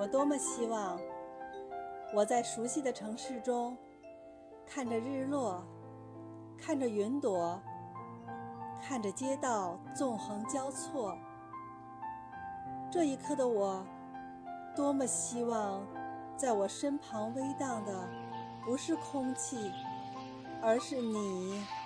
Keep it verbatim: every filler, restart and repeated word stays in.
我多么希望我在熟悉的城市中，看着日落，看着云朵，看着街道纵横交错。这一刻的我，多么希望在我身旁微荡的不是空气，而是你。